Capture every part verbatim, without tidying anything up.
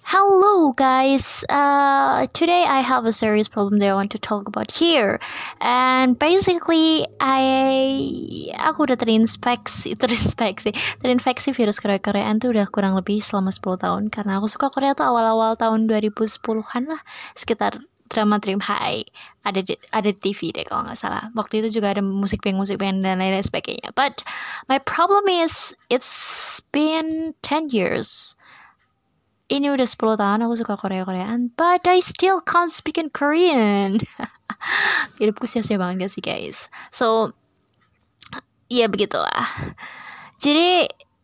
Hello, guys. Uh, today I have a serious problem that I want to talk about here, and basically I aku udah terinspeksi, terinspeksi, terinfeksi virus Korea-Koreaan tuh udah kurang lebih selama sepuluh tahun karena aku suka Korea tuh awal-awal tahun dua ribu sepuluhan lah, sekitar drama Dream High ada di, ada di T V deh kalau nggak salah. Waktu itu juga ada musik band musik band dan lain-lain sebagainya. But my problem is it's been ten years. Ini udah sepuluh tahun aku suka Korea-Koreaan, but I still can't speak in Korean. Hidupku sia-sia banget gak sih guys? So, ya begitulah. Jadi,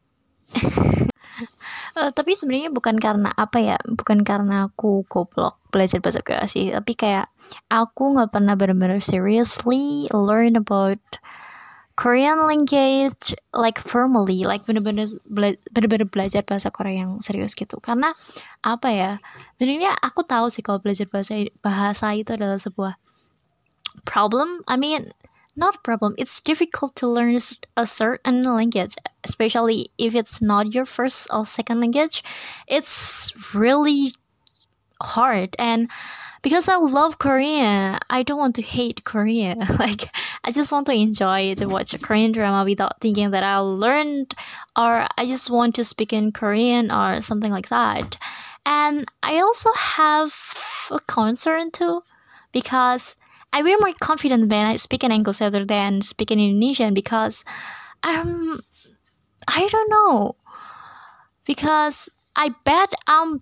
uh, tapi sebenarnya bukan karena apa ya, bukan karena aku goblok belajar bahasa Korea sih, tapi kayak aku nggak pernah benar-benar seriously learn about Korean language like formally, like bener-bener bela- bener-bener belajar bahasa Korea yang serius gitu. Karena apa ya? Sebenarnya aku tahu sih kalau belajar bahasa bahasa itu adalah sebuah problem. I mean, not problem. It's difficult to learn a certain language, especially if it's not your first or second language. It's really hard, and because I love Korea, I don't want to hate Korea. Like, I just want to enjoy to watch a Korean drama without thinking that I'll learn, or I just want to speak in Korean or something like that. And I also have a concern too, because I feel more confident when I speak in English rather than speak in Indonesian, because I'm, I don't know, because I bet I'm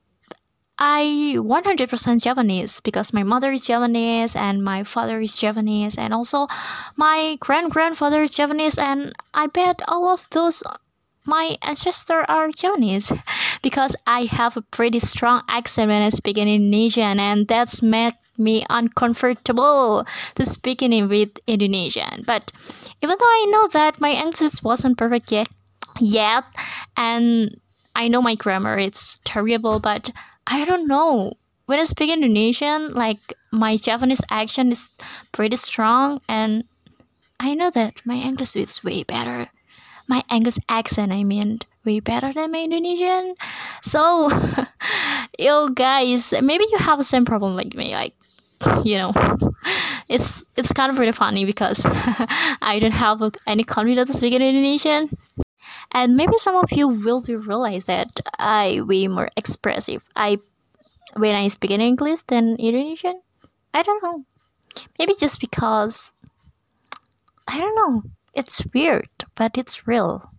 I one hundred percent Japanese because my mother is Japanese and my father is Japanese and also my grand-grandfather is Japanese, and I bet all of those my ancestors are Japanese because I have a pretty strong accent when I speak in Indonesian, and that's made me uncomfortable to speak in with Indonesian. But even though I know that my English wasn't perfect yet, yet and I know my grammar it's terrible, but I don't know. When I speak Indonesian, like my Japanese accent is pretty strong, and I know that my English is way better. My English accent, I mean, way better than my Indonesian. So, yo guys, maybe you have the same problem like me. Like, you know, it's it's kind of pretty funny because I don't have any confidence to speak in Indonesian. And maybe some of you will be realize that I way more expressive. I when I speak in English than Indonesian. I don't know. Maybe just because I don't know. It's weird, but it's real.